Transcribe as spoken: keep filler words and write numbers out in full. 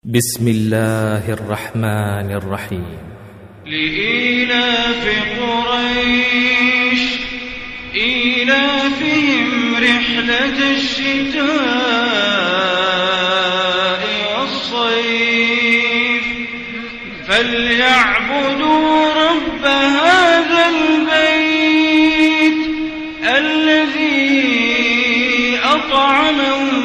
بسم الله الرحمن الرحيم. لإيلاف قريش إيلافهم رحلة الشتاء والصيف فليعبدوا رب هذا البيت الذي أطعمهم